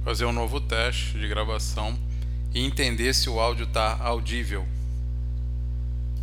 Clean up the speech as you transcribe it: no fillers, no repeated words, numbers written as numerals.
fazer um novo teste de gravação e entender se o áudio está audível.